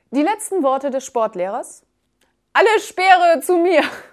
Die letzten Worte des Sportlehrers: Alle Speere zu mir!